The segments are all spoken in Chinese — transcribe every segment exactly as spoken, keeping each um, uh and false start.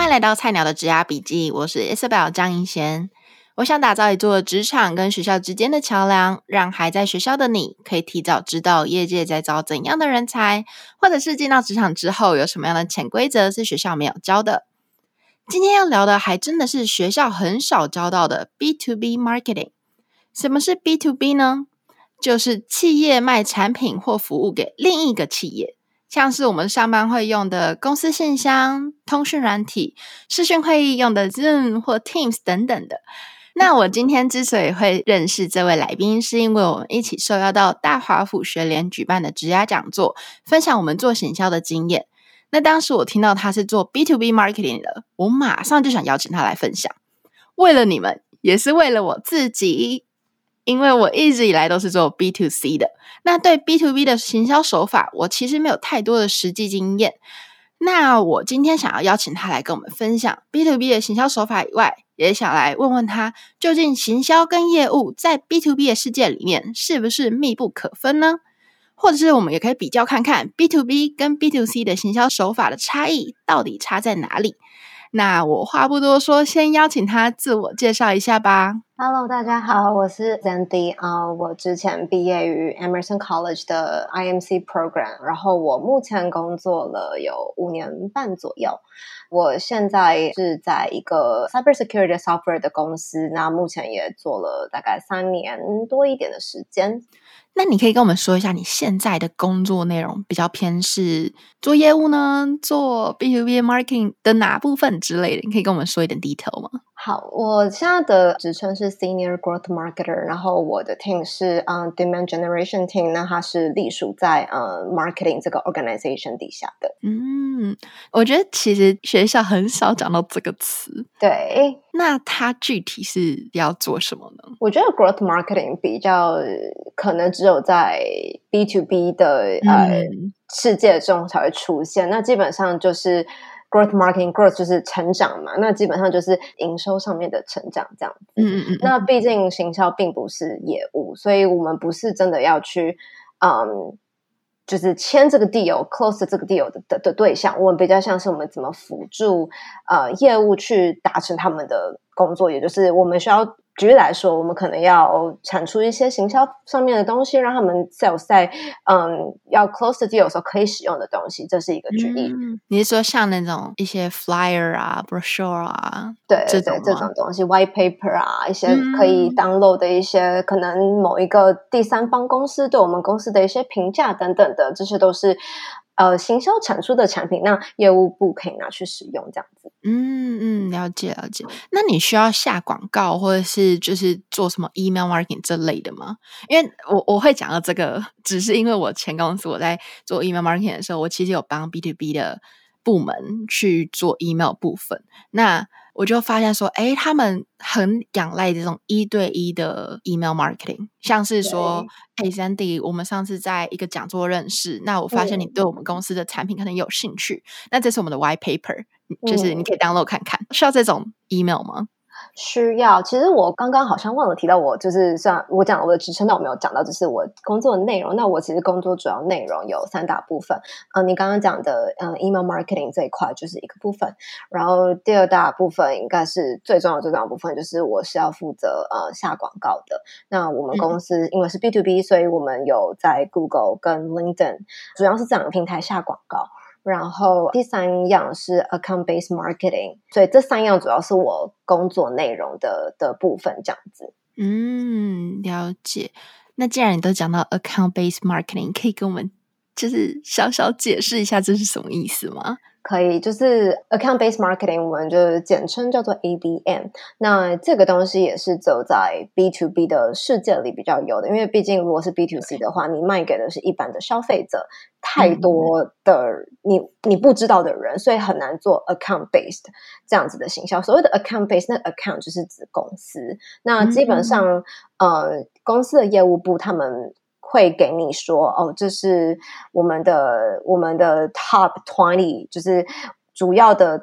迎來到菜鳥的職涯筆記，我是 Isabel 張銀賢。我想打造一座職場跟學校之間的橋樑，讓還在學校的你可以提早知道業界在招怎樣的人才，或者是進到職場之後有什麼樣的潛規則是學校沒有教的。今天要聊的還真的是學校很少教到的 B to B Marketing。什麼是 B to B 呢？就是企業賣產品或服務給另一個企業，像是我們上班會用的公司信箱、通訊軟體、視訊會議用的 Zoom 或 Teams 等等的。那我今天之所以會認識這位來賓，是因為我們一起受邀到大華府學聯舉辦的職涯講座，分享我們做行銷的經驗。那當時我聽到他是做 B to B Marketing 的，我馬上就想邀請他來分享。為了你們，也是為了我自己。因為我一直以來都是做 B to C 的，那對 B to B 的行銷手法，我其實沒有太多的實際經驗。那我今天想要邀請他來跟我們分享 B to B 的行銷手法以外，也想來問問他，究竟行銷跟業務在 B to B 的世界裡面是不是密不可分呢？或者是我們也可以比較看看 B to B 跟 B to C 的行銷手法的差異到底差在哪裡。那我話不多說，先邀請他自我介紹一下吧。 Hello， 大家好，我是 Zandy 啊、uh, 我之前畢業於 Emerson College 的 I M C Program， 然後我目前工作了有五年半左右。我現在是在一個 Cybersecurity Software 的公司，那目前也做了大概三年多一點的時間。 那你可以跟我們說一下你現在的工作內容比較偏是做業務呢，做 B to B Marketing 的哪部分之類的？你可以跟我們說一點 detail 嗎？ 好，我現在的職稱是 Senior Growth Marketer， 然後我的 team 是、uh, Demand Generation Team， 那它是隸屬在、uh, Marketing 這個 organization 底下的。 嗯，我覺得其實學校很少講到這個詞。 對， 那它具體是要做什麼呢？ 我覺得 Growth Marketing 比較可能只有在 B to B 的、嗯、呃世界中才會出現，那基本上就是Growth Marketing Growth 就是成長嘛，那基本上就是營收上面的成長這樣子。嗯嗯嗯。那畢竟行銷並不是業務，所以我們不是真的要去，嗯，就是簽這個 deal、close 這個 deal 的的的對象。我們比較像是我們怎麼輔助呃業務去達成他們的工作，也就是我們需要。舉例來說，我們可能要產出一些行銷上面的東西，讓他們 sales 在嗯要 close the deal 的時候可以使用的東西，這是一個舉例。嗯、 你是說像那種一些 flyer 啊、brochure 啊， 對對對，這種東西 ，white paper 啊，一些可以 download 的一些，嗯、可能某一個第三方公司對我們公司的一些評價等等的，這些都是呃行銷產出的產品，那業務部可以拿去使用這樣子。 嗯嗯，了解了解。那你需要下廣告或者是就是做什麼 email marketing 這類的嗎？因為我我會講到這個，只是因為我前公司我在做 email marketing 的時候，我其實有幫 B to B 的部門去做 email 部分。那我就發現說，誒，他們很仰賴這種一對一的 email marketing， 像是說，誒 Sandy， 我們上次在一個講座認識，那我發現你對我們公司的產品可能有興趣，嗯、那這是我們的 white paper， 就是你可以 download 看看，嗯、需要這種 email 嗎？ 需要。其實我剛剛好像忘了提到我，我就是像我講我的職稱，但我沒有講到就是我工作的內容。那我其實工作主要內容有三大部分。嗯，你剛剛講的嗯 email marketing 這一塊就是一個部分，然後第二大部分應該是最重要的最重要的部分，就是我是要負責呃下廣告的。那我們公司因為是 B to B，、嗯、所以我們有在 Google 跟 LinkedIn 主要是這兩個平台下廣告。然後第三樣是 account-based marketing， 所以這三樣主要是我工作內容的的部分，這樣子。 嗯，了解。那既然你都講到 account-based marketing， 可以跟我們就是小小解釋一下這是什麼意思嗎？ 可以，就是 account-based marketing， 我們就簡稱叫做 A B M。那這個東西也是走在 B to B 的世界裡比較有的，因為畢竟如果是 B to C 的話，你賣給的是一般的消費者，太多的你你不知道的人，所以很難做 account-based 這樣子的行銷。所謂的 account-based， 那 account 就是指公司。那基本上，嗯、呃，公司的業務部他們會給你說，哦，這是我們的我們的 top twenty， 就是主要的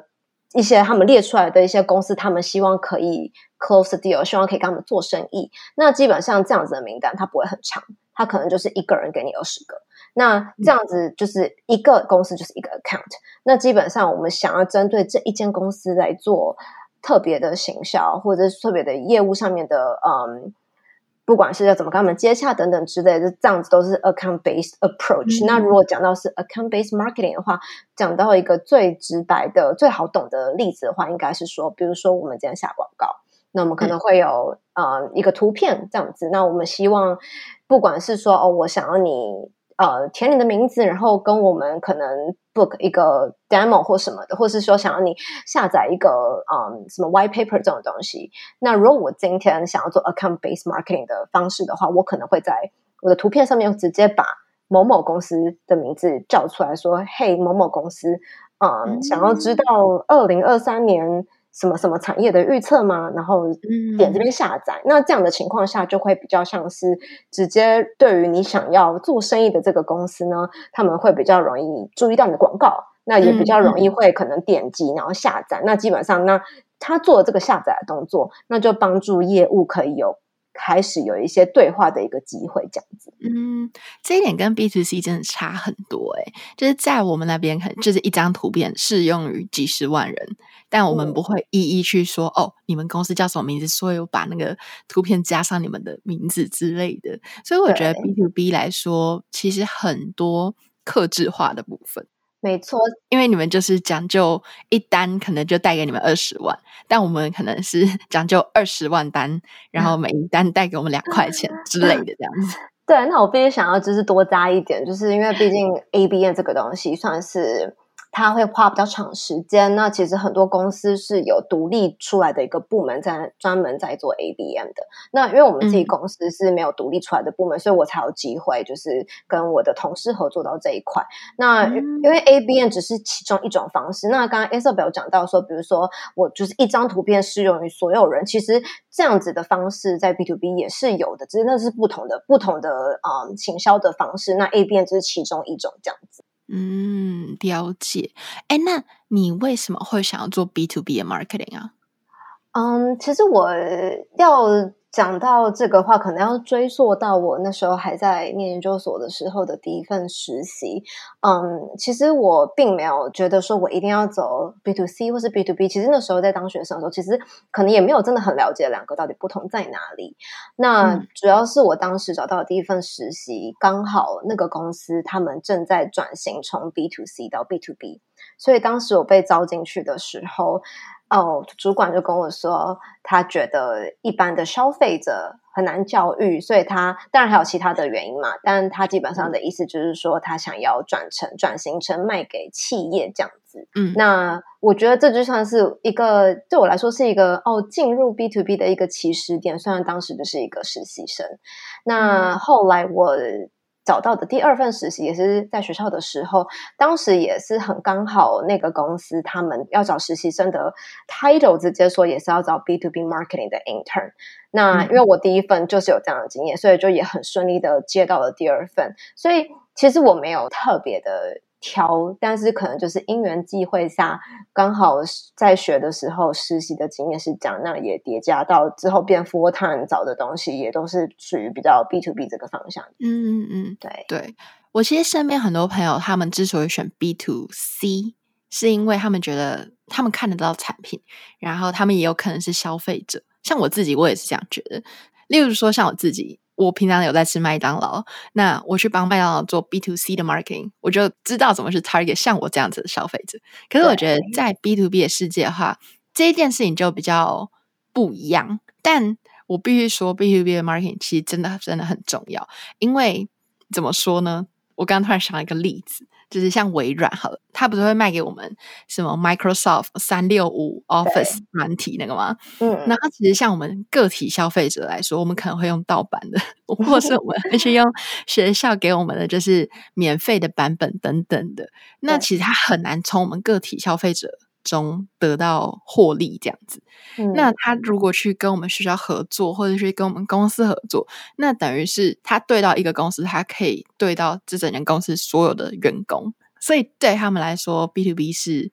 一些他們列出來的一些公司，他們希望可以 close the deal， 希望可以跟他們做生意。那基本上這樣子的名單它不會很長，它可能就是一個人給你二十個。那這樣子就是一個公司就是一個 account。那基本上我們想要針對這一間公司來做特別的行銷，或者是特別的業務上面的，嗯，不管是要怎麼跟他們接洽等等之類的，這樣子都是 account based approach。嗯、那如果講到是 account based marketing 的話，講到一個最直白的、最好懂的例子的話，應該是說，比如說我們今天下廣告，那我們可能會有、嗯、呃一個圖片這樣子。那我們希望，不管是說哦，我想要你。呃，填你的名字，然後跟我們可能 book 一個 demo 或什麼的，或是說想要你下載一個嗯什麼 white paper 這種東西。那如果我今天想要做 account based marketing 的方式的話，我可能會在我的圖片上面直接把某某公司的名字叫出來說，嘿，某某公司，嗯，想要知道二零二三年什麼什麼產業的預測嗎？然後點這邊下載。嗯、那這樣的情況下，就會比較像是直接對於你想要做生意的這個公司呢，他們會比較容易注意到你的廣告，那也比較容易會可能點擊然後下載。嗯、那基本上，那他做這個下載的動作，那就幫助業務可以有開始有一些對話的一個機會，這樣子。 嗯，這一點跟 B to C 真的差很多誒、欸、就是在我們那邊可能就是一張圖片適用於幾十萬人，但我們不會一一去說、嗯、哦，你們公司叫什麼名字，所以我把那個圖片加上你們的名字之類的。所以我覺得 B to B 來說，其實很多客製化的部分。 沒錯， 因為你們就是講究一單可能就帶給你們二十萬，但我們可能是講究二十萬單，然後每一單帶給我們兩塊錢之類的這樣子。 對，那我必須想要就是多加一點，就是因為畢竟 A B M 這個東西算是它會花比較長時間，那其實很多公司是有獨立出來的一個部門在專門在做 A B M 的。那因為我們自己公司是沒有獨立出來的部門，嗯、所以我才有機會就是跟我的同事合作到這一塊。那因為 A B M 只是其中一種方式。那剛剛 Isabel 有講到說，比如說我就是一張圖片適用於所有人，其實這樣子的方式在 B to B 也是有的，只是那是不同的不同的嗯行銷的方式。那 A B M 只是其中一種這樣子。 嗯，了解。哎，那你為什麼會想要做 B to B 的 marketing 啊？ 嗯，其實我要講到這個話，可能要追溯到我那時候還在念研究所的時候的第一份實習。嗯，其實我並沒有覺得說我一定要走 B to C 或是 B to B。其實那時候在當學生的時候，其實可能也沒有真的很了解兩個到底不同在哪裡。那主要是我當時找到的第一份實習，剛好那個公司他們正在轉型從 B to C 到 B to B，所以當時我被招進去的時候，哦，主管就跟我說，他覺得一般的消費者很難教育，所以他當然還有其他的原因嘛，但他基本上的意思就是說，他想要轉成轉型成賣給企業這樣子。嗯，那我覺得這就算是一個對我來說是一個哦進入 B to B 的一個起始點，雖然當時就是一個實習生。那後來我找到的第二份實習也是在學校的時候，當時也是很剛好，那個公司他們要找實習生的 title 直接說也是要找 B to B marketing 的 intern。那因為我第一份就是有這樣的經驗，所以就也很順利的接到了第二份。所以其實我沒有特別的挑，但是可能就是因緣際會下，剛好在學的時候實習的經驗是這樣，那也疊加到之後變 full time 找的東西也都是屬於比較 B to B 這個方向。 嗯嗯嗯， 對對，我其實身邊很多朋友他們之所以選 B to C， 是因為他們覺得他們看得到產品，然後他們也有可能是消費者。像我自己，我也是這樣覺得。例如說，像我自己。我平常有在吃麥當勞，那我去幫麥當勞做 B to C 的 marketing， 我就知道怎麼去 target 像我這樣子的消費者。可是我覺得在 B to B 的世界的話，這一件事情就比較不一樣。但我必須說 B to B 的 marketing 其實真的真的很重要，因為怎麼說呢？我剛剛突然想了一個例子，就是像微軟好了，它不是會賣給我們什麼 Microsoft 三六五 Office 軟體那個嗎？嗯，那它其實像我們個體消費者來說，我們可能會用盜版的，或是我們會去用學校給我們的就是免費的版本等等的。那其實它很難從我們個體消費者中得到獲利這樣子。嗯，那他如果去跟我們學校合作，或者去跟我們公司合作，那等於是他對到一個公司，他可以對到這整間公司所有的員工，所以對他們來說 B to B 是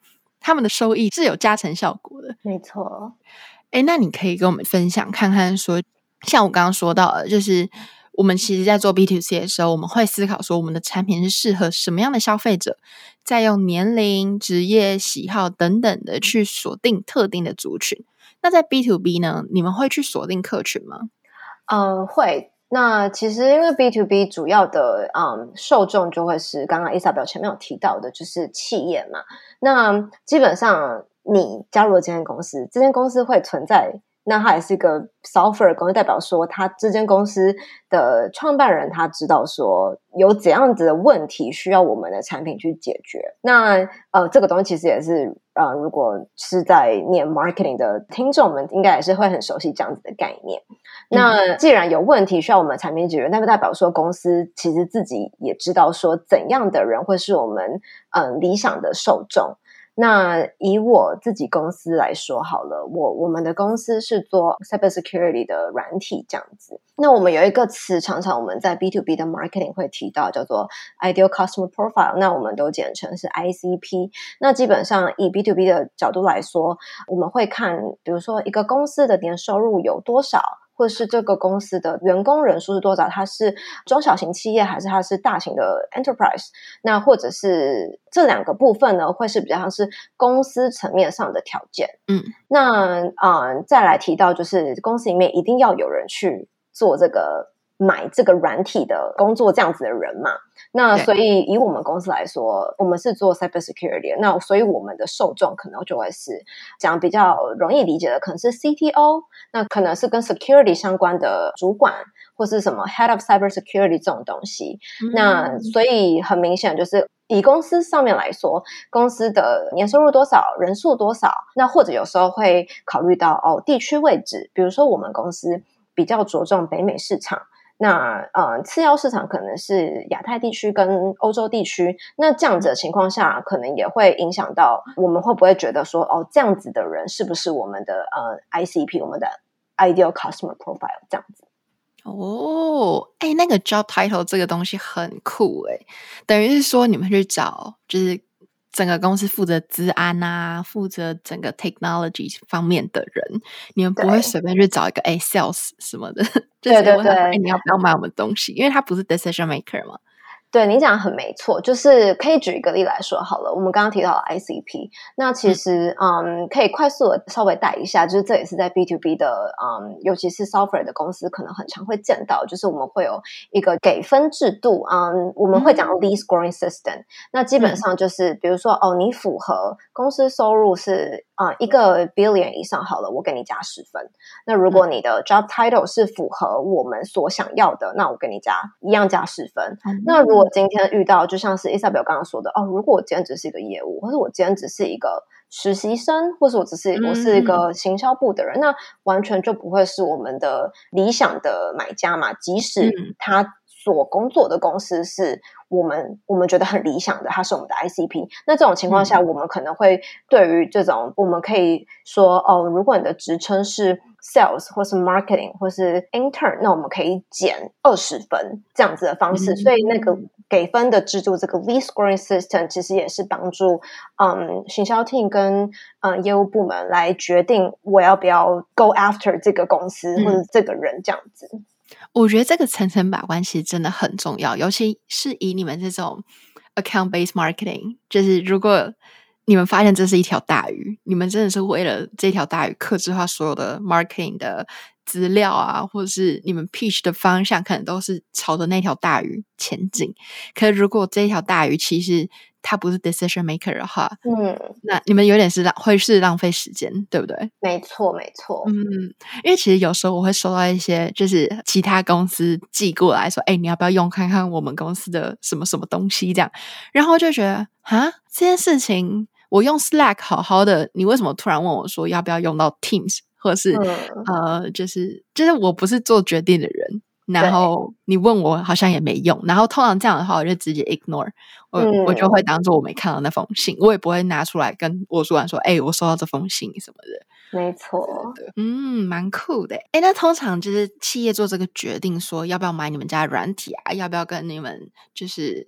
他們的收益是有加成效果的。 沒錯。 誒，那你可以跟我們分享看看說，像我剛剛說到的，就是我們其實在做 B to C 的時候，我們會思考說我們的產品是適合什麼樣的消費者，再用年齡、職業、喜好等等的去鎖定特定的族群。那在 B to B 呢，你們會去鎖定客群嗎？ 嗯，會。那其實因為 B to B 主要的嗯受眾就會是剛剛 Isabel 前面有提到的，就是企業嘛。那基本上你加入了這間公司，這間公司會存在，那它也是一個 software 公司，代表說他這間公司的創辦人他知道說有怎樣子的問題需要我們的產品去解決。那呃這個東西其實也是呃如果是在念 marketing 的聽眾們應該也是會很熟悉這樣子的概念。那既然有問題需要我們產品解決，那不代表說公司其實自己也知道說怎樣的人會是我們嗯、呃、理想的受眾。那以我自己公司來說好了，我我們的公司是做 cybersecurity 的軟體這樣子。那我們有一個詞常常我們在 B to B 的 marketing 會提到，叫做 ideal customer profile， 那我們都簡稱是 I C P。那基本上以 B to B 的角度來說，我們會看比如說一個公司的年收入有多少，或是這個公司的員工人數是多少，它是中小型企業還是它是大型的 enterprise， 那或者是這兩個部分呢，會是比較像是公司層面上的條件。嗯，那嗯、呃，再來提到就是公司裡面一定要有人去做這個買這個軟體的工作，這樣子的人嘛。那所以以我們公司來說，我們是做 cybersecurity， 那所以我們的受眾可能就會是講比較容易理解的，可能是 C T O， 那可能是跟 security 相關的主管，或是什麼 head of cybersecurity 這種東西。嗯、那所以很明顯就是以公司上面來說，公司的年收入多少，人數多少，那或者有時候會考慮到哦地區位置，比如說我們公司比較着重北美市場。那呃，次要市場可能是亞太地區跟歐洲地區，那這樣子的情況下，可能也會影響到我們會不會覺得說，哦，這樣子的人是不是我們的呃 I C P， 我們的 ideal customer profile 這樣子。 哦，哎，那個 job title 這個東西很酷哎，等於是說你們去找就是整個公司負責資安啊，負責整個 technology 方面的人，你們不會隨便去找一個哎 sales 什麼的，就是問他哎你要不要買我們東西，因為他不是 decision maker 嘛。 對，你講的很沒錯，就是可以舉一個例來說好了。我們剛剛提到的 I C P， 那其實嗯，嗯可以快速的稍微帶一下，就是這也是在 B to B 的嗯，尤其是 software 的公司可能很常會見到，就是我們會有一個給分制度，嗯，我們會講 lead scoring system，嗯。那基本上就是比如說哦，你符合公司收入是啊、嗯、一個 billion 以上好了，我給你加十分。那如果你的 job title 是符合我們所想要的，那我給你加一樣加十分。嗯、那如果今天遇到就像是 Isabel 剛剛說的哦，如果我今天只是一個業務，或者我今天只是一個實習生，或是我只是我是一個行銷部的人，嗯、那完全就不會是我們的理想的買家嘛。即使他所工作的公司是我們我們覺得很理想的，他是我們的 I C P， 那這種情況下，我們可能會對於這種我們可以說哦，如果你的職稱是 sales 或是 marketing 或是 intern， 那我們可以減二十分這樣子的方式。嗯、所以那個給分的制度，這個 lead scoring system 其實也是幫助嗯行銷 team 跟嗯業務部門來決定我要不要 go after 這個公司、嗯、或者這個人這樣子。 我覺得這個層層把關其實真的很重要，尤其是以你們這種 account-based marketing， 就是如果你們發現這是一條大魚，你們真的是為了這條大魚客製化所有的 marketing 的資料啊，或者是你們 pitch 的方向可能都是朝着那條大魚前進。可是如果這條大魚其實他不是 decision maker 的話，嗯，那你們有點是浪會是浪費時間，對不對？ 沒錯，沒錯。 嗯，因為其實有時候我會收到一些就是其他公司寄過來說，哎，你要不要用看看我們公司的什麼什麼東西這樣，然後就覺得啊，這件事情我用 Slack 好好的，你為什麼突然問我說要不要用到 Teams， 或者是、嗯、呃，就是就是我不是做決定的人。然後你問我好像也沒用，然後通常這樣的話我就直接 ignore 我、嗯、我就會當做我沒看到那封信，我也不會拿出來跟我主管說，哎，我收到這封信什麼的。 沒錯， 對對，嗯，蠻酷的。哎，那通常就是企業做這個決定說要不要買你們家的軟體啊，要不要跟你們就是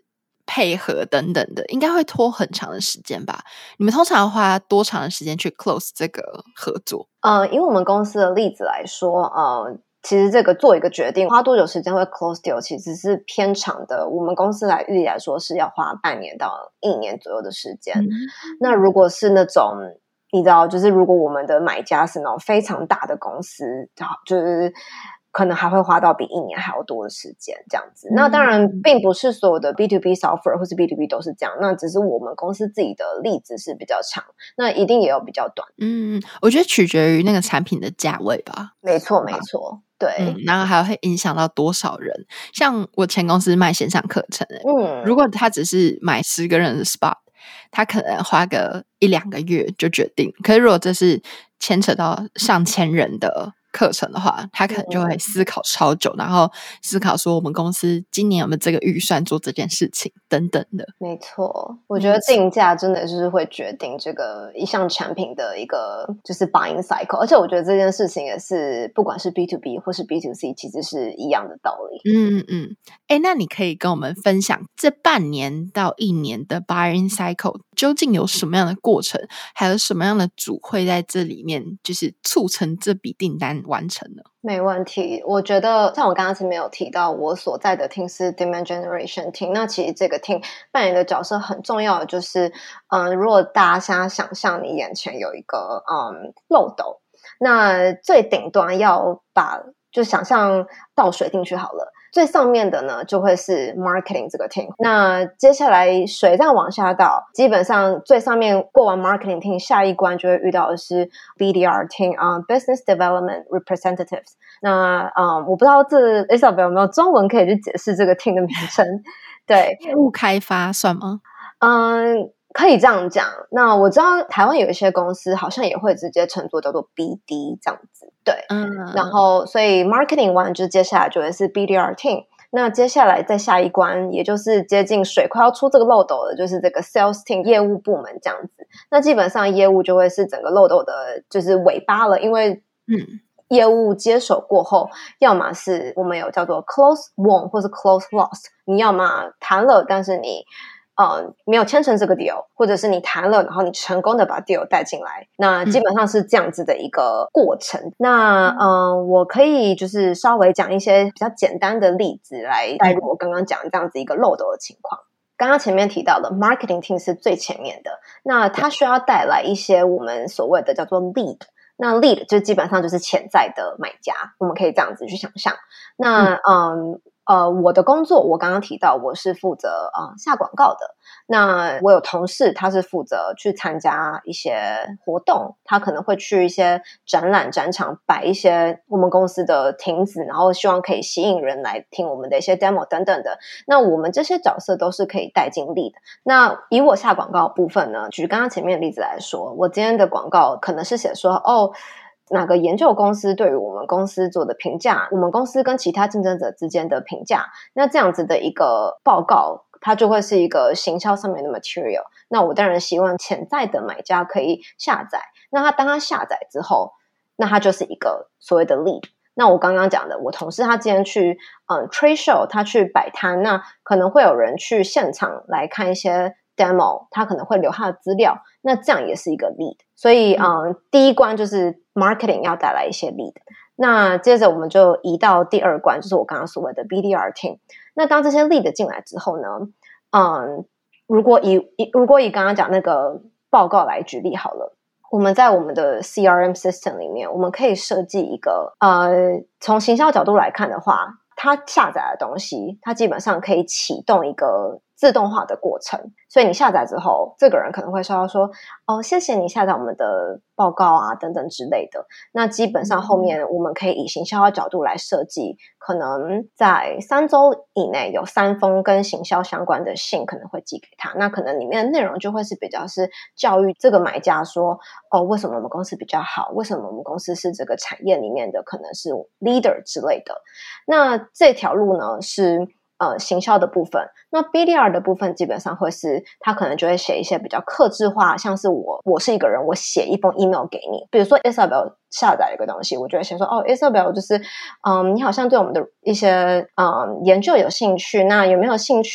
配合等等的，應該會拖很長的時間吧？你們通常花多長的時間去 close 這個合作？ 呃，以我們公司的例子來說，呃，其實這個做一個決定花多久時間會 close deal，其實是偏長的。我們公司來預計來說是要花半年到一年左右的時間。嗯、那如果是那種你知道，就是如果我們的買家是那種非常大的公司，就是可能還會花到比一年還要多的時間這樣子。嗯、那當然並不是所有的 B to B software 或是 B to B 都是這樣，那只是我們公司自己的例子是比較長，那一定也有比較短。 嗯，我覺得取決於那個產品的價位吧。 沒錯沒錯，對、 嗯。然後還會影響到多少人，像我前公司賣線上課程， 嗯，如果他只是買十個人的 spot，他可能花個一兩個月就決定，可是如果這是牽扯到上千人的課程的話，他可能就會思考超久，嗯、然後思考說我們公司今年有沒有這個預算做這件事情等等的。 沒錯，我覺得定價真的就是會決定這個一項產品的一個就是 buying cycle，而且我覺得這件事情也是不管是 B to B 或是 B to C 其實是一樣的道理。 嗯嗯，哎，那你可以跟我們分享這半年到一年的 buying cycle 究竟有什麼樣的過程，還有什麼樣的組會在這裡面就是促成這筆訂單完成呢？ 沒問題，我覺得像我剛剛前面有提到，我所在的 team 是 demand generation team，那其實這個 team 扮演的角色很重要的就是，嗯，如果大家現在想象你眼前有一個嗯漏斗，那最頂端要把就想象倒水進去好了。最上面的呢，就會是 marketing 這個 team。那接下來水再往下倒，基本上最上面過完 marketing team，下一關就會遇到的是 B D R team 啊、uh,，business development representatives。那嗯，我不知道這 Isabel 有沒有中文可以去解釋這個 team 的名稱？對， 業務開發算嗎？ 嗯。可以這樣講，那我知道台灣有一些公司好像也會直接稱作叫做 B D 這樣子，對，嗯，然後所以 marketing 完就接下來就會是 B D R team，那接下來再下一關，也就是接近水快要出這個漏斗的，就是這個 sales team 業務部門這樣子，那基本上業務就會是整個漏斗的就是尾巴了，因為嗯，業務接手過後，要麼是我們有叫做 close won 或是 close lost，你要麼談了，但是你呃，沒有簽成這個 deal， 或者是你談了，然後你成功的把 deal 帶進來，那基本上是這樣子的一個過程。嗯、那嗯、呃，我可以就是稍微講一些比較簡單的例子來帶入我剛剛講這樣子一個漏斗的情況。剛剛前面提到的 marketing team 是最前面的，那它需要帶來一些我們所謂的叫做 lead， 那 lead 就基本上就是潛在的買家，我們可以這樣子去想象。那嗯。嗯呃，我的工作我剛剛提到，我是負責呃下廣告的。那我有同事，他是負責去參加一些活動，他可能會去一些展覽展場擺一些我們公司的亭子，然後希望可以吸引人來聽我們的一些 demo 等等的。那我們這些角色都是可以帶進 lead 的。那以我下廣告的部分呢，舉剛剛前面的例子來說，我今天的廣告可能是寫說哦。哪個研究公司對於我們公司做的評價，我們公司跟其他競爭者之間的評價，那這樣子的一個報告，它就會是一個行銷上面的 material。那我當然希望潛在的買家可以下載，那他當他下載之後，那他就是一個所謂的 lead。那我剛剛講的，我同事他今天去嗯 trade show，他去擺攤，那可能會有人去現場來看一些demo， 他可能會留他的資料，那這樣也是一個 lead。所以嗯，第一關就是 marketing 要帶來一些 lead， 那接着我們就移到第二關，就是我剛剛所謂的 B D R team。那當這些 lead 進來之後呢，嗯，如果以如果以剛剛講那個報告來舉例好了，我們在我們的 C R M system 裡面，我們可以設計一個呃，從行銷角度來看的話，它下載的東西，它基本上可以啟動一個自動化的過程，所以你下載之後，這個人可能會收到說，哦，謝謝你下載我們的報告啊，等等之類的。那基本上後面我們可以以行銷的角度來設計，可能在三周以內有三封跟行銷相關的信可能會寄給他。那可能裡面的內容就會是比較是教育這個買家說，哦，為什麼我們公司比較好？為什麼我們公司是這個產業裡面的可能是 leader 之類的？那這條路呢是。呃，行銷的部分，那 B D R 的部分基本上會是，他可能就會寫一些比較客製化，像是我，我是一個人，我寫一封 email 給你，比如說 Isabel 下載一個東西，我就會寫說，哦 ，Isabel 就是，嗯，你好像對我們的一些嗯研究有興趣，那有沒有興趣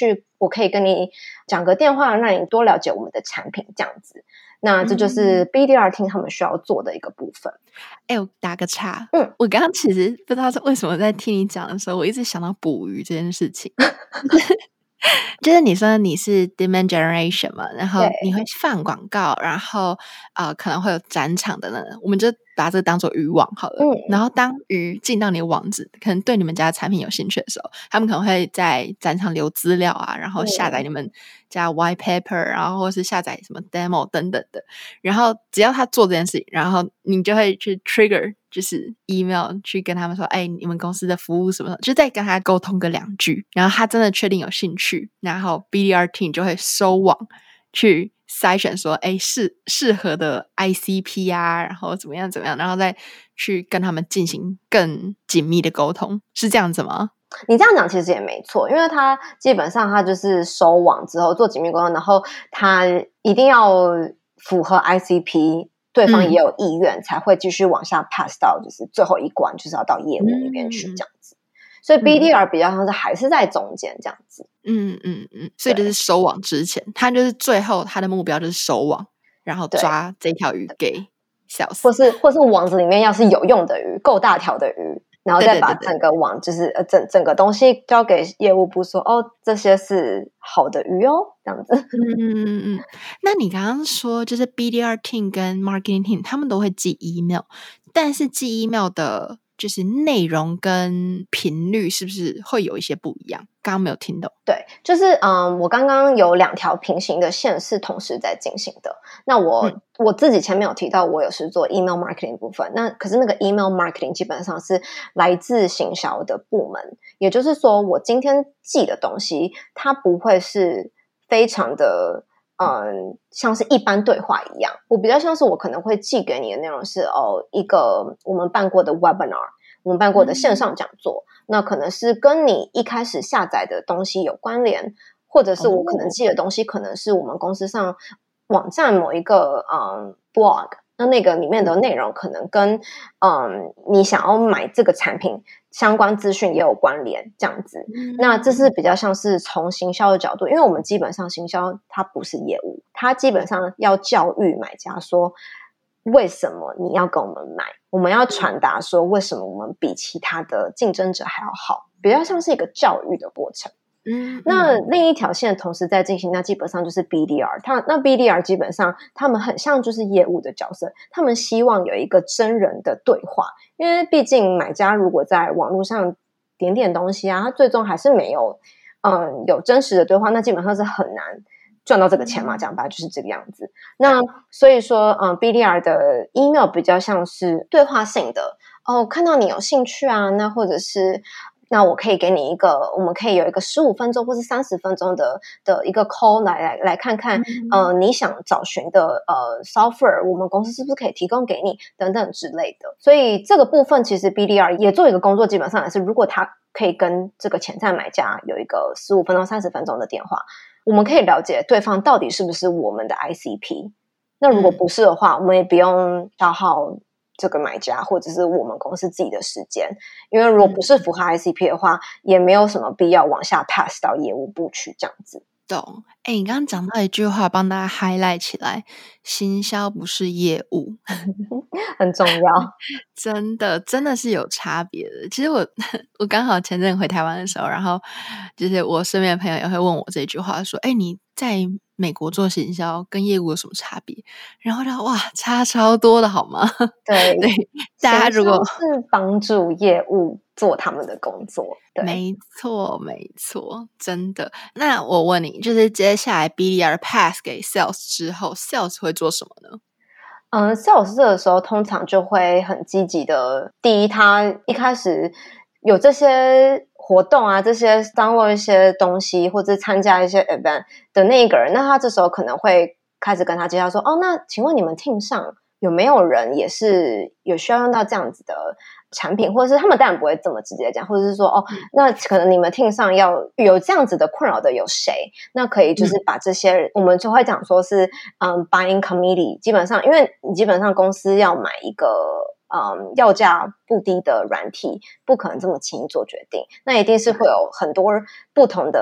我可以跟你講個電話，讓你多了解我們的產品這樣子。那這就是 B D R team 他們需要做的一個部分。 哎、嗯欸，我打個岔， 嗯， 我剛剛其實不知道是為什麼在聽你講的時候，我一直想到捕魚這件事情。就是你說你是 demand generation 嘛，然後你會放廣告，然後呃可能會有展場的呢，我們就把這個當做漁網好了。嗯，然後當魚進到你的網子，可能對你們家的產品有興趣的時候，他們可能會在展場留資料啊，然後下載你們家 white paper，然後或是下載什麼 demo 等等的。然後只要他做這件事情，然後你就會去 trigger，就是 email 去跟他們說，哎，你們公司的服務什麼的，就再跟他溝通個兩句。然後他真的確定有興趣，然後 B D R team 就會收網去篩選說，哎，適適合的 I C P 啊，然後怎麼樣怎麼樣，然後再去跟他們進行更緊密的溝通，是這樣子嗎？ 你這樣講其實也沒錯，因為他基本上他就是收網之後做緊密溝通，然後他一定要符合 I C P， 對方也有意願、嗯、才會繼續往下 pass 到就是最後一關，就是要到業務那邊去這樣子。嗯、所以 B D R 比較像是還是在中間這樣子。嗯嗯嗯，所以就是收網之前，他就是最後他的目標就是收網，然後抓這條魚給 sales，或是或是網子裡面要是有用的魚，夠大條的魚。然後再把整個網，就是呃整整個東西交給業務部說，哦，這些是好的魚哦，這樣子。 嗯嗯嗯。那你剛剛說，就是 B D R team 跟 marketing team 他們都會寄 email， 但是寄 email 的就是內容跟頻率是不是會有一些不一樣？剛剛沒有聽懂。對， 就是嗯，我剛剛有兩條平行的線是同時在進行的。那我、嗯、我自己前面有提到，我有是做 email marketing 部分。那可是那個 email marketing 基本上是來自行銷的部門，也就是說，我今天寄的東西，它不會是非常的嗯，像是一般對話一樣。我比較像是我可能會寄給你的內容是哦，一個我們辦過的 webinar， 我們辦過的線上講座。嗯，那可能是跟你一開始下載的東西有關聯，或者是我可能寄的東西可能是我們公司上網站某一個嗯 blog， 那那個裡面的內容可能跟嗯你想要買這個產品相關資訊也有關聯，這樣子。那這是比較像是從行銷的角度，因為我們基本上行銷它不是業務，它基本上要教育買家說為什麼你要跟我們買，我們要傳達說為什麼我們比其他的競爭者還要好，比較像是一個教育的過程。嗯，那另一條線同時在進行，那基本上就是 B D R， 它那 B D R 基本上他們很像就是業務的角色，他們希望有一個真人的對話，因為畢竟買家如果在網絡上點點東西啊，他最終還是沒有嗯有真實的對話，那基本上是很難賺到這個錢嘛，講白就是這個樣子。那所以說嗯 B D R 的 email 比較像是對話性的哦，看到你有興趣啊，那或者是那我可以給你一個，我們可以有一個十五分鐘或是三十分鐘的的一個 call 來來來看看，嗯、呃，你想找尋的呃 software， 我們公司是不是可以提供給你等等之類的。所以這個部分其實 B D R 也做一個工作，基本上也是如果他可以跟這個潛在買家有一個十五分鐘、三十分鐘的電話，我們可以了解對方到底是不是我們的 I C P。那如果不是的話，嗯、我們也不用消耗這個買家或者是我們公司自己的時間，因為如果不是符合 I C P 的話，嗯、也沒有什麼必要往下 pass 到業務部去這樣子。 懂。哎，你剛剛講到一句話，幫大家 highlight 起來，行銷不是業務， 很重要。 真的，真的是有差別的。其實我我剛好前陣回台灣的時候，然後就是我身邊的朋友也會問我這句話，說：“哎，你在美國做行銷跟業務有什麼差別？”然後他哇，差超多的好嗎？ 對對，大家如果是幫助業務做他們的工作，對，沒錯，沒錯，真的。那我問你，就是接下來 B D R pass 給 sales 之後 ，sales 會做什麼呢？ 嗯 ，sales 這個時候通常就會很積極的。第一，他一開始有這些活動啊，這些 download 一些東西，或者參加一些 event 的那一個人，那他這時候可能會開始跟他介紹說，哦，那請問你們 team 上有沒有人也是有需要用到這樣子的產品，或者是他們當然不會這麼直接講，或者是說哦，那可能你們 team 上要有這樣子的困擾的有誰？那可以就是把這些，嗯、我們就會講說是嗯 buying committee， 基本上因為你基本上公司要買一個嗯要價不低的軟體，不可能這麼輕易做決定，那一定是會有很多不同的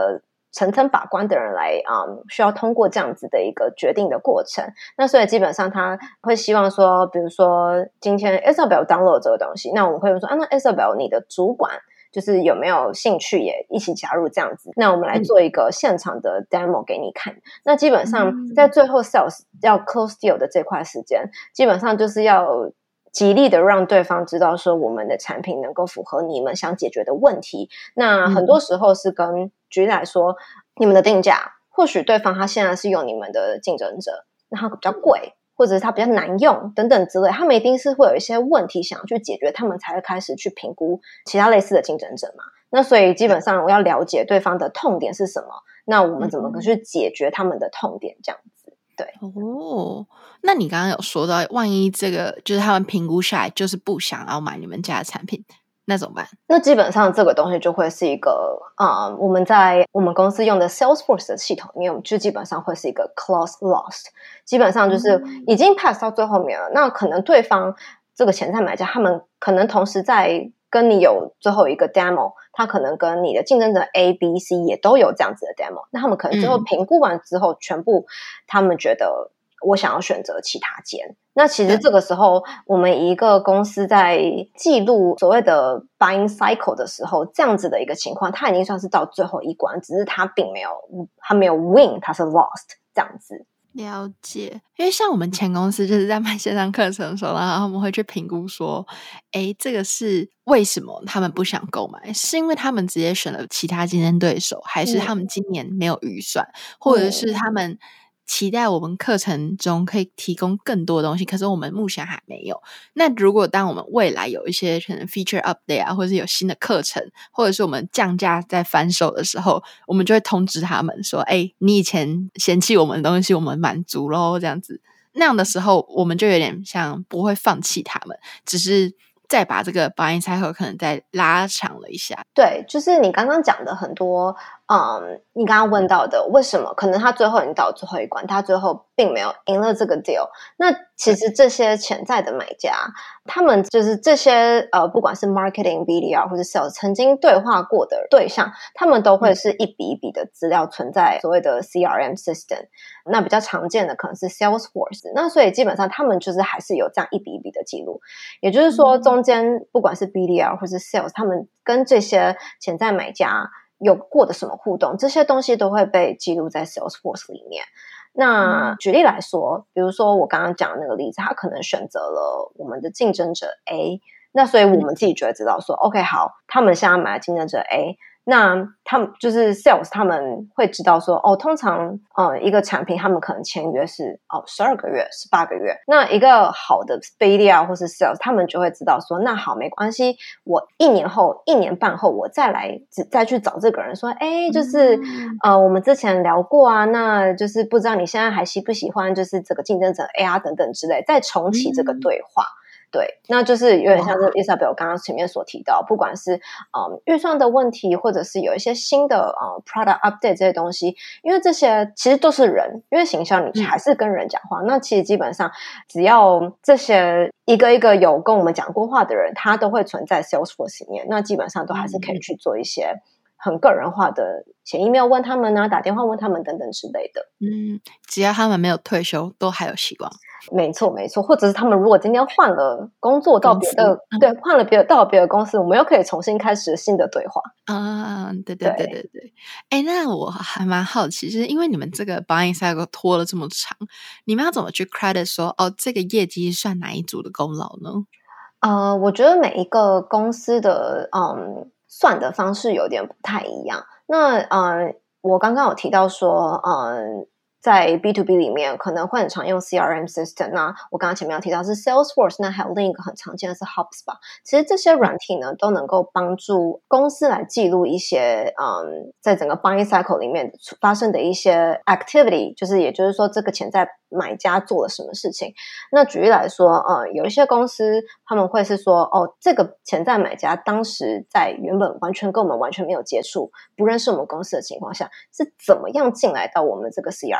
層層把關的人來啊、嗯，需要通過這樣子的一個決定的過程。那所以基本上他會希望說，比如說今天 Isabel download 這個東西，那我們會說啊，那 Isabel 你的主管就是有沒有興趣也一起加入這樣子？那我們來做一個現場的 demo 給你看。嗯、那基本上在最後 sales 要 close deal 的這塊時間，基本上就是要極力的讓對方知道說我們的產品能夠符合你們想解決的問題。那很多時候是跟、嗯、舉例來說，你們的定價，或許對方他現在是用你們的競爭者，那他比較貴，或者是他比較難用等等之類，他們一定是會有一些問題想要去解決，他們才會開始去評估其他類似的競爭者嘛。那所以基本上我要了解對方的痛點是什麼，那我們怎麼去解決他們的痛點這樣子。對哦，那你剛剛有說到，萬一這個就是他們評估下來就是不想要買你們家的產品，那怎麼辦？ 那基本上這個東西就會是一個啊、呃，我們在我們公司用的 Salesforce 的系統裡面，就基本上會是一個 close lost， 基本上就是已經 pass 到最後面了。嗯、那可能對方這個潛在買家，他們可能同時在跟你有最後一個 demo， 他可能跟你的競爭者 A、B、C 也都有這樣子的 demo， 那他們可能最後評估完之後，嗯、全部他們覺得我想要選擇其他間。那其實這個時候，我們一個公司在記錄所謂的 buying cycle 的時候，這樣子的一個情況，它已經算是到最後一關，只是它並沒有，它沒有 win， 它是 lost 這樣子。 了解，因為像我們前公司就是在賣線上課程的時候，然後他們會去評估說，誒，這個是為什麼他們不想購買？是因為他們直接選了其他競爭對手，還是他們今年沒有預算，嗯、或者是他們期待我們課程中可以提供更多的東西，可是我們目前還沒有。那如果當我們未來有一些可能 feature update 啊，或者是有新的課程，或者是我們降價在翻售的時候，我們就會通知他們說，哎，你以前嫌棄我們的東西，我們滿足咯，這樣子。那樣的時候，我們就有點像不會放棄他們，只是再把這個 buying cycle 可能再拉長了一下。 對，就是你剛剛講的很多，嗯，你剛剛問到的，為什麼可能他最後已經到最後一關，他最後並沒有贏了這個 deal。那其實這些潛在的買家，他們就是這些呃，不管是 marketing、B D R 或者 sales 曾經對話過的對象，他們都會是一筆一筆的資料存在所謂的 C R M system。那比較常見的可能是 Salesforce。那所以基本上他們就是還是有這樣一筆一筆的記錄，也就是說中間不管是 B D R 或是 sales，他們跟這些潛在買家有過的什麼互動，這些東西都會被記錄在 Salesforce 裡面。那舉例來說，比如說我剛剛講的那個例子，他可能選擇了我們的競爭者 A， 那所以我們自己就會知道說、嗯、OK 好，他們現在買了競爭者 A， 那他們就是 sales 他們會知道說哦，通常呃一個產品他們可能簽約是哦十二個月十八個月，那一個好的 B D R 或是 sales 他們就會知道說那好沒關係，我一年後一年半後我再來再去找這個人說誒就是、嗯、呃我們之前聊過啊，那就是不知道你現在還喜不喜歡就是這個競爭者 A 啊等等之類，再重啟這個對話。嗯對，那就是有點像是 Isabel 剛剛前面所提到，不管是嗯預算的問題，或者是有一些新的呃 product update 這些東西，因為這些其實都是人，因為行銷你還是跟人講話，嗯、那其實基本上只要這些一個一個有跟我們講過話的人，他都會存在 Salesforce 裡面，那基本上都還是可以去做一些很個人化的寫 email 問他們啊，打電話問他們等等之類的。 嗯，只要他們沒有退休，都還有希望。 沒錯，沒錯，或者是他們如果今天換了工作到別的， 嗯、 對，換了別的到別的公司，我們又可以重新開始新的對話。 啊，對對對對對。哎，那我還蠻好奇，就是因為你們這個 buying cycle 拖了這麼長，你們要怎麼去 credit 說哦，這個業績算哪一組的功勞呢？ 呃，我覺得每一個公司的嗯算的方式有點不太一樣。那嗯，我剛剛有提到說嗯。在 B to B 裡面可能會很常用 C R M system， 那我剛剛前面有提到是 Salesforce， 那還有另一個很常見的是 HubSpot。其實這些軟體呢都能夠幫助公司來記錄一些嗯，在整個 buying cycle 裡面發生的一些 activity， 就是也就是說這個潛在買家做了什麼事情。那舉例來說嗯，有一些公司他們會是說哦，這個潛在買家當時在原本完全跟我們完全沒有接觸，不認識我們公司的情況下，是怎麼樣進來到我們這個 C R M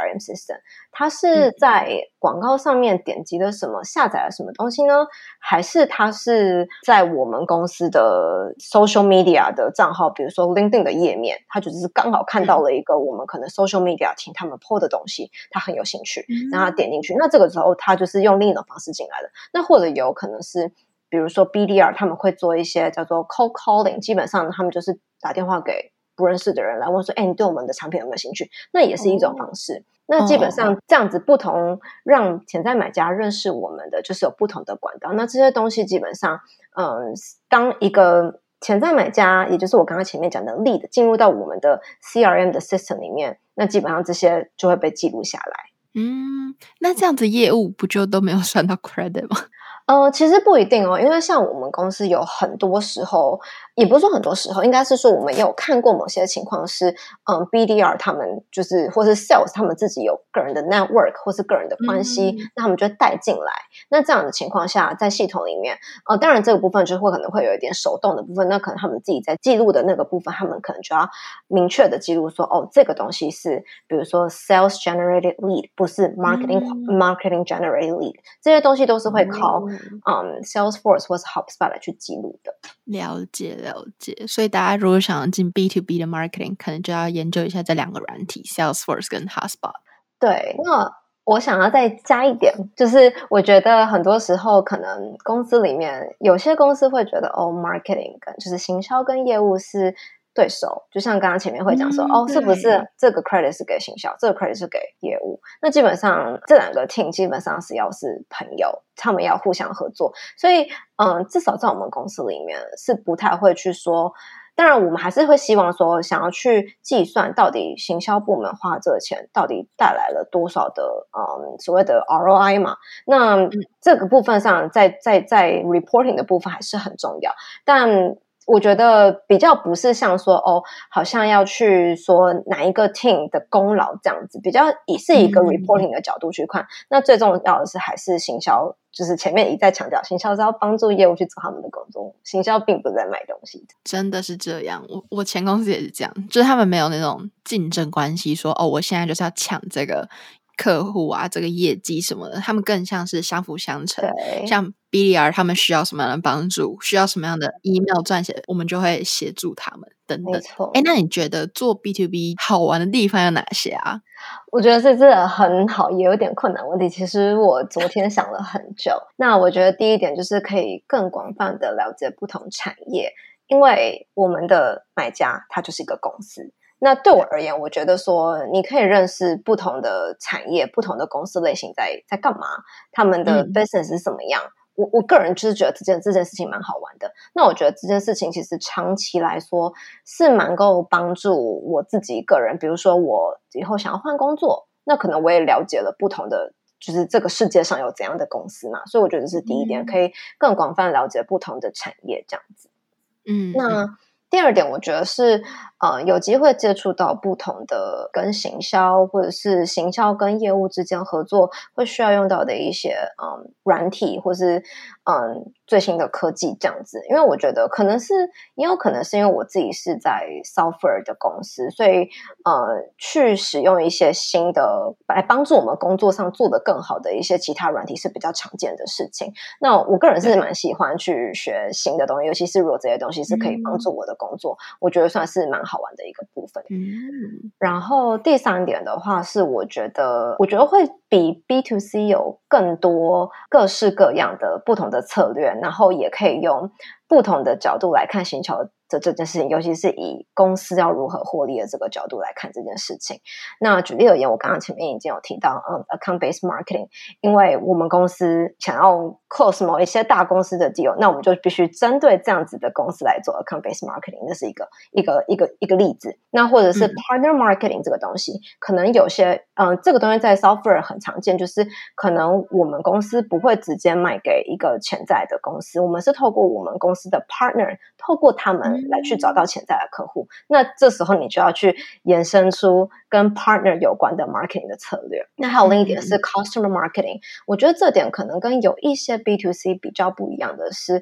M system， 他是在廣告上面點擊了什麼，下載了什麼東西呢？還是他是在我們公司的 social media 的賬號，比如說 LinkedIn 的頁面，他就只是剛好看到了一個我們可能 social media 請他們 po 的東西，他很有興趣，然後他點進去，那這個時候他就是用另一種方式進來的。那或者有可能是比如說 B D R 他們會做一些叫做 cold calling， 基本上他們就是打電話給不認識的人來問說，哎，你對我們的產品有沒有興趣？那也是一種方式。Oh. 那基本上這樣子不同讓潛在買家認識我們的，就是有不同的管道。那這些東西基本上，嗯，當一個潛在買家，也就是我剛剛前面講的 lead 進入到我們的 C R M 的 system 裡面，那基本上這些就會被記錄下來。 嗯，那這樣子業務不就都沒有算到 credit 嗎？ 呃，其實不一定哦，因為像我們公司有很多時候，也不是說很多時候，應該是說我們也有看過某些情況是，嗯 ，B D R 他們就是或是 Sales 他們自己有個人的 network 或是個人的關係，嗯、那他們就會帶進來。那這樣的情況下，在系統裡面，呃，當然這個部分就會可能會有一點手動的部分，那可能他們自己在記錄的那個部分，他們可能就要明確的記錄說，哦，這個東西是比如說 Sales generated lead， 不是 Marketing、嗯、Marketing generated lead， 這些東西都是會靠。嗯嗯 ，Salesforce 或是 HubSpot 來去記錄的。 了解了解，所以大家如果想要進 B to B 的 marketing， 可能就要研究一下這兩個軟體 Salesforce 跟 HubSpot。 對，那我想要再加一點，就是我覺得很多時候可能公司裡面有些公司會覺得哦 ，marketing 跟就是行銷跟業務是對手，就像剛剛前面會講說、嗯、哦，是不是這個 credit 是給行銷，這個 credit 是給業務？那基本上這兩個 team 基本上是要是朋友，他們要互相合作，所以嗯，至少在我們公司裡面是不太會去說。當然，我們還是會希望說，想要去計算到底行銷部門花這個錢到底帶來了多少的嗯所謂的 R O I 嘛。那這個部分上，在在在 reporting 的部分還是很重要，但。我覺得比較不是像說哦，好像要去說哪一個 team 的功勞這樣子，比較以是一個 reporting 的角度去看。嗯、那最重要的是還是行銷，就是前面一再強調，行銷是要幫助業務去做他們的工作，行銷並不是在賣東西。真的是這樣， 我我前公司也是這樣，就是他們沒有那種競爭關係，說哦，我現在就是要搶這個客戶啊，這個業績什麼的，他們更像是相輔相成。 對， 像 B D R 他們需要什麼樣的幫助，需要什麼樣的 email 撰寫，我們就會協助他們等等。沒錯。誒，那你覺得做 B to B 好玩的地方有哪些啊？ 我覺得這真的很好，也有點困難問題。其實我昨天想了很久。那我覺得第一點就是可以更廣泛的了解不同產業，因為我們的買家他就是一個公司。那對我而言，我覺得說你可以認識不同的產業、不同的公司類型在在幹嘛，他們的 business 是怎麼樣。嗯、我我個人就是覺得這件這件事情蠻好玩的。那我覺得這件事情其實長期來說是蠻夠幫助我自己個人。比如說我以後想要換工作，那可能我也了解了不同的，就是這個世界上有怎樣的公司嘛。所以我覺得這是第一點，嗯、可以更廣泛了解不同的產業這樣子。嗯，那。第二點，我覺得是，呃，有機會接觸到不同的跟行銷或者是行銷跟業務之間合作會需要用到的一些，嗯，軟體或是，嗯，最新的科技這樣子。因為我覺得可能是，也有可能是因為我自己是在 software 的公司，所以，呃，去使用一些新的來幫助我們工作上做得更好的一些其他軟體是比較常見的事情。那我個人是蠻喜歡去學新的東西，尤其是如果這些東西是可以幫助我的工作，嗯、我覺得算是蠻好玩的一個部分。嗯，然後第三點的話是，我覺得我覺得會比 B to C 有更多各式各樣的不同的策略，然後也可以用不同的角度來看行銷的這件事情，尤其是以公司要如何獲利的這個角度來看這件事情。那舉例而言，我剛剛前面已經有提到，嗯 ，account-based marketing， 因為我們公司想要 close 某一些大公司的 deal，那我們就必須針對這樣子的公司來做 account-based marketing， 這是一個一個一個一個例子。那或者是 partner marketing 這個東西，嗯、可能有些，嗯，這個東西在 software 很常見，就是可能我們公司不會直接賣給一個潛在的公司，我們是透過我們公司的 partner， 透過他們來去找到潛在的客戶，那這時候你就要去衍生出跟 partner 有關的 marketing 的策略。那還有另一點是 customer marketing， 我覺得這點可能跟有一些 B to C 比較不一樣的是，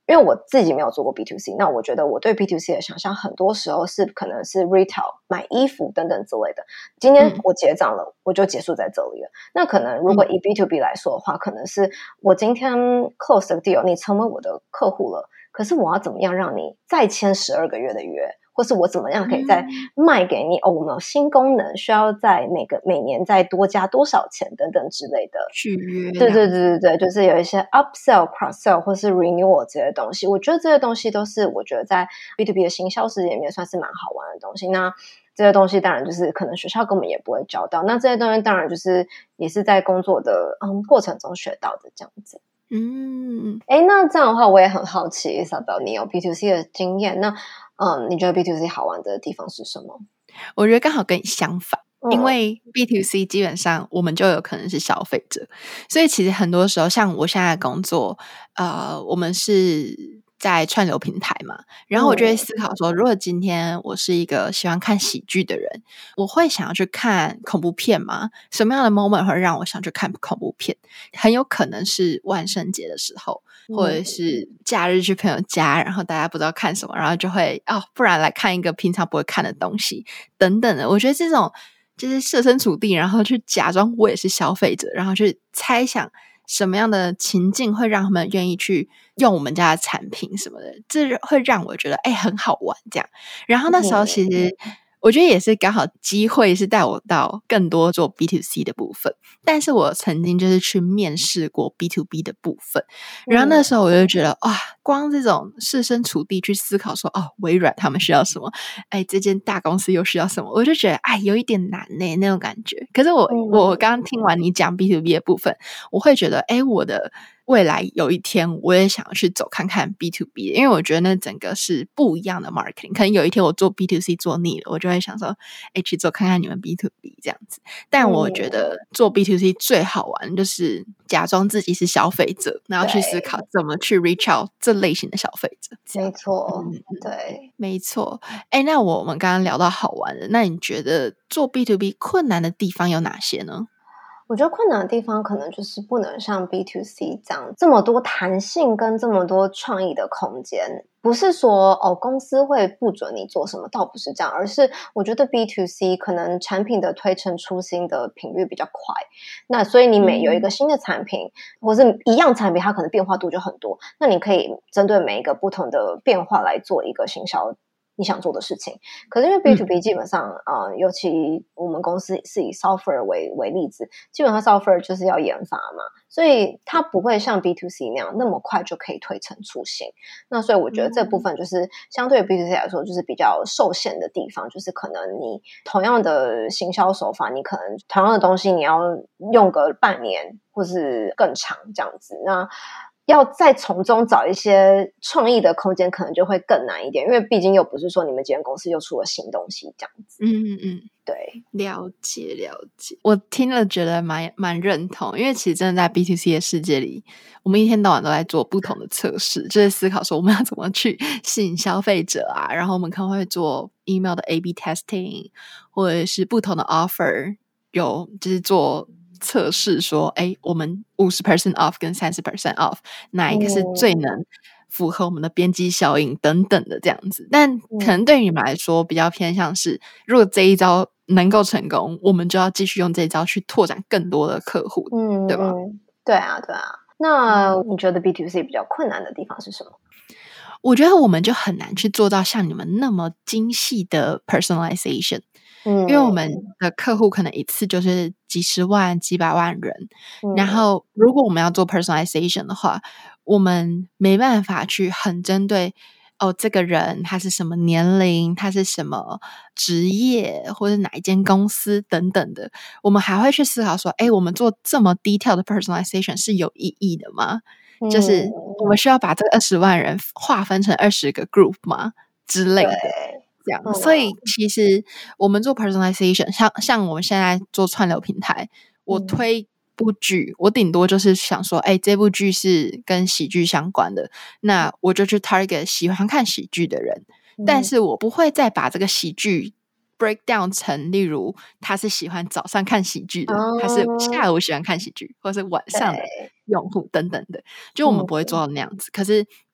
因為我自己沒有做過 B to C， 那我覺得我對 B to C 的想象很多時候是可能是 retail 買衣服等等之類的。今天我結賬了，嗯、我就結束在這裡了。那可能如果以 B to B 來說的話，嗯、可能是我今天 close the deal， 你成為我的客戶了，可是我要怎麼樣讓你再簽十二個月的約？或是我怎麼樣可以再賣給你、嗯、哦？我們有新功能，需要在每個每年再多加多少錢等等之類的續約。 對對對對對，就是有一些 upsell、cross-sell 或是 renewal 這些東西。我覺得這些東西都是我覺得在 B to B 的行銷世界裡面算是蠻好玩的東西。那這些東西當然就是可能學校根本也不會教到。那這些東西當然就是也是在工作的嗯過程中學到的這樣子。嗯，誒，那這樣的話我也很好奇 Isabel 你有 B to C 的經驗，那嗯，你覺得 B to C 好玩的地方是什麼？ 我覺得剛好跟你相反，嗯、因為 B to C 基本上我們就有可能是消費者，所以其實很多時候，像我現在的工作，呃，我們是在串流平台嘛，然後我就會思考說，如果今天我是一個喜歡看喜劇的人，我會想要去看恐怖片嗎？什麼樣的 moment 會讓我想去看恐怖片？很有可能是萬聖節的時候，或者是假日去朋友家，然後大家不知道看什麼，然後就會哦，不然來看一個平常不會看的東西等等的。我覺得這種就是設身處地，然後去假裝我也是消費者，然後去猜想什麼樣的情境會讓他們願意去用我們家的產品什麼的，這會讓我覺得哎、欸、很好玩這樣。然後那時候其實我覺得也是剛好機會是帶我到更多做 B to C 的部分，但是我曾經就是去面試過 B to B 的部分，然後那時候我就覺得哇，光這種設身處地去思考說哦，微軟他們需要什麼，哎，這間大公司又需要什麼，我就覺得哎有一點難呢那種感覺。可是我我剛剛聽完你講 B to B 的部分，我會覺得哎我的未來有一天我也想要去走看看 B to B， 因為我覺得那整個是不一樣的 marketing。可能有一天我做 B to C 做膩了，我就會想說哎去做看看你們 B to B 這樣子。但我覺得做 B to C 最好玩就是假裝自己是消費者，然後去思考怎麼去 reach out 這類型的消費者。 沒錯、嗯、對， 沒錯。哎，那我們剛剛聊到好玩的，那你覺得做 B to B 困難的地方有哪些呢？ 我覺得困難的地方可能就是不能像 B to C 這樣這麼多彈性跟這麼多創意的空間。不是說哦公司會不准你做什麼，倒不是這樣，而是我覺得 B to C 可能產品的推陳出新的頻率比較快，那所以你每有一個新的產品、嗯、或是一樣產品，它可能變化度就很多，那你可以針對每一個不同的變化來做一個行銷你想做的事情。可是因為 B to B 基本上啊、嗯呃，尤其我們公司是以 software 為為例子，基本上 software 就是要研發嘛，所以它不會像 B to C 那樣那麼快就可以推陳出新。那所以我覺得這部分就是相對於 B to C 來說，就是比較受限的地方，就是可能你同樣的行銷手法，你可能同樣的東西你要用個半年或是更長這樣子，那要再從中找一些創意的空間，可能就會更難一點，因為畢竟又不是說你們這間公司又出了新東西這樣子。嗯嗯嗯，對， 了解了解。我聽了覺得蠻蠻認同，因為其實真的在 B to C 的世界裡，我們一天到晚都在做不同的測試，就是思考說我們要怎麼去吸引消費者啊，然後我們可能會做 email 的 A B testing， 或者是不同的 offer 有就是做測試說，哎，我們 百分之五十 off 跟 百分之三十 off 哪一個是最能符合我們的邊際效應等等的這樣子。但可能對於你們來說比較偏向是，如果這一招能夠成功，我們就要繼續用這一招去拓展更多的客戶，嗯，對吧？ 對啊，對啊。那你覺得 B to C 比較困難的地方是什麼？ 我覺得我們就很難去做到像你們那麼精細的 personalization。因為我們的客戶可能一次就是幾十萬幾百萬人、嗯、然後如果我們要做 personalization 的話，我們沒辦法去很針對哦這個人他是什麼年齡，他是什麼職業，或者哪一間公司等等的，我們還會去思考說，誒我們做這麼 detail 的 personalization 是有意義的嗎、嗯、就是我們需要把這個二十萬人劃分成二十個 group 嗎之類的這樣，所以其實我們做 personalization， 像像我們現在做串流平台，我推部劇，我頂多就是想說，哎，這部劇是跟喜劇相關的，那我就去 target 喜歡看喜劇的人，但是我不會再把這個喜劇 break down 成，例如他是喜歡早上看喜劇的，他是下午喜歡看喜劇，或是晚上的用戶等等的，就我們不會做到那樣子。可是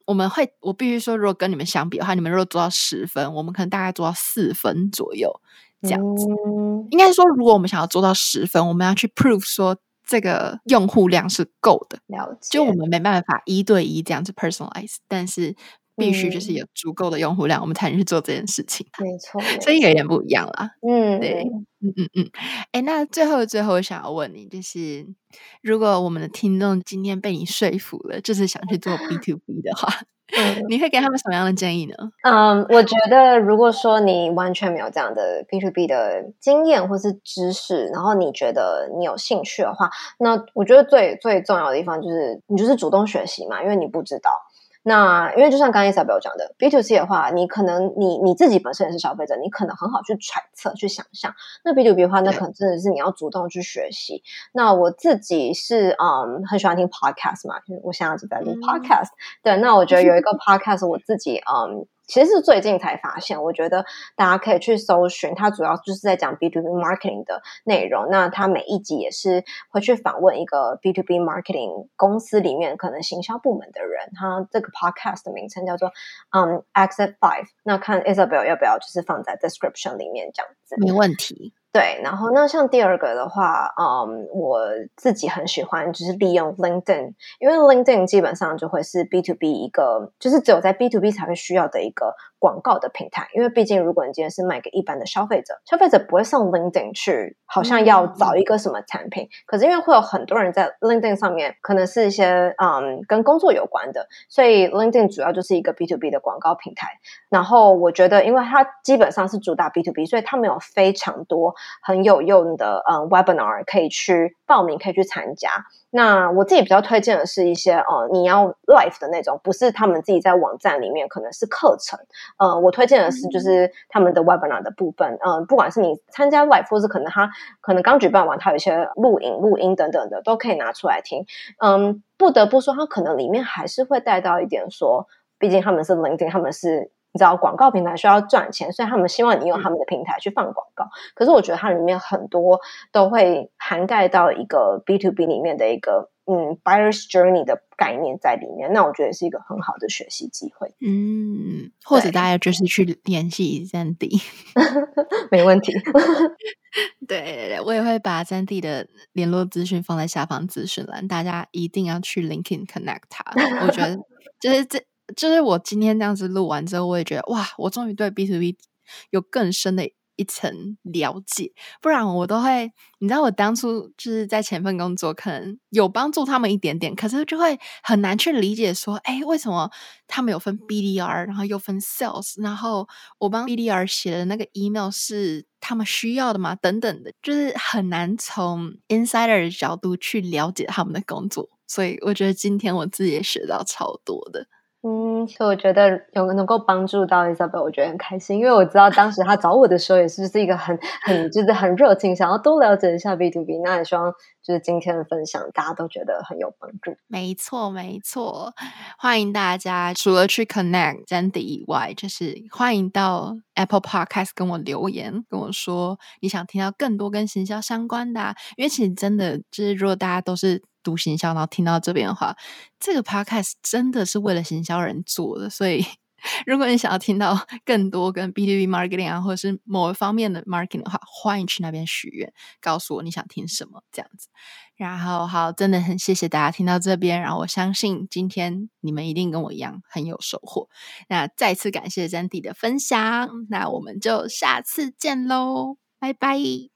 我們會，我必須說，如果跟你們相比的話，你們如果做到十分，我們可能大概做到四分左右這樣子。嗯、應該說，如果我們想要做到十分，我們要去 prove 說這個用戶量是夠的。 了解。 就我們沒辦法一對一這樣子 personalize， 但是必須就是有足夠的用戶量，嗯、我們才能去做這件事情。 沒錯， 所以有點不一樣啦。 嗯， 對，嗯嗯嗯。哎，那最後最後我想要問你，就是如果我們的聽眾今天被你說服了，就是想去做 B to B 的話，嗯、你會給他們什麼樣的建議呢？ 嗯，我覺得如果說你完全沒有這樣的 B to B 的經驗或是知識，然後你覺得你有興趣的話，那我覺得最最重要的地方就是你就是主動學習嘛，因為你不知道。那因為就像剛才 Isabel 講的 B to C 的話，你可能你你自己本身也是消費者，你可能很好去揣測去想象。那 B to B 的話，那可能真的是你要主動去學習。那我自己是嗯很喜歡聽 podcast 嘛，就是我現在一直在錄 podcast、嗯。對，那我覺得有一個 podcast 我自己嗯。其實是最近才發現，我覺得大家可以去搜尋，它主要就是在講 B to B marketing 的內容。那它每一集也是會去訪問一個 B to B marketing 公司裡面可能行銷部門的人。它這個 podcast 的名稱叫做嗯 Exit Five。那看 Isabel 要不要就是放在 description 裡面這樣子。 沒問題。 對，然後那像第二個的話，嗯，我自己很喜歡就是利用 LinkedIn， 因為 LinkedIn 基本上就會是 B to B 一個，就是只有在 B to B 才會需要的一個廣告的平台。因為畢竟如果你今天是賣給一般的消費者，消費者不會上 LinkedIn 去，好像要找一個什麼產品。嗯、可是因為會有很多人在 LinkedIn 上面，可能是一些嗯跟工作有關的，所以 LinkedIn 主要就是一個 B to B 的廣告平台。然後我覺得，因為它基本上是主打 B to B， 所以他們有非常多很有用的嗯 webinar 可以去報名，可以去參加。那我自己比較推薦的是一些呃你要 live 的那種，不是他們自己在網站裡面可能是課程。呃，我推薦的是就是他們的 webinar 的部分。嗯、呃，不管是你參加 live， 或是可能他可能剛舉辦完，他有一些錄影、錄音等等的，都可以拿出來聽。嗯，不得不說，他可能裡面還是會帶到一點說，畢竟他們是 LinkedIn， 他們是。你知道廣告平台需要賺錢，所以他們希望你用他們的平台去放廣告。嗯、可是我覺得它裡面很多都會涵蓋到一個 B to B 裡面的一個嗯 buyer's journey 的概念在裡面。那我覺得是一個很好的學習機會。嗯， 或者大家就是去聯繫 Zandy， 沒問題。 對對對，我也會把 Zandy 的聯絡資訊放在下方資訊欄，大家一定要去 LinkedIn connect 他。我覺得就是這。就是我今天這樣子錄完之後，我也覺得哇，我終於對 B to B 有更深的一層了解。不然我都會，你知道我當初就是在前份工作可能有幫助他們一點點，可是就會很難去理解說，哎，為什麼他們有分 B D R， 然後又分 Sales， 然後我幫 B D R 寫的那個 email 是他們需要的嗎？等等的，就是很難從 insider 的角度去了解他們的工作。所以我覺得今天我自己也學到超多的。 嗯，所以我覺得有能夠幫助到 Isabel， 我覺得很開心，因為我知道當時他找我的時候也是是一個很很就是很熱情，想要多了解一下 B to B。那也希望就是今天的分享大家都覺得很有幫助。 沒錯沒錯，歡迎大家除了去 connect Zandy 以外，就是歡迎到 Apple Podcast 跟我留言，跟我說你想聽到更多跟行銷相關的啊，因為其實真的就是如果大家都是讀行銷然後聽到這邊的話，這個 podcast 真的是為了行銷人做的，所以如果你想要聽到更多跟 B to B marketing 啊，或者是某一方面的 marketing 的話，歡迎去那邊許願，告訴我你想聽什麼這樣子。然後好，真的很謝謝大家聽到這邊，然後我相信今天你們一定跟我一樣很有收穫。那再次感謝 Zandy 的分享，那我們就下次見嘍，拜拜。